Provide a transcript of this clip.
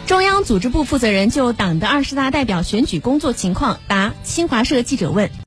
中央组织部负责人就党的20大代表选举工作情况答新华社记者问。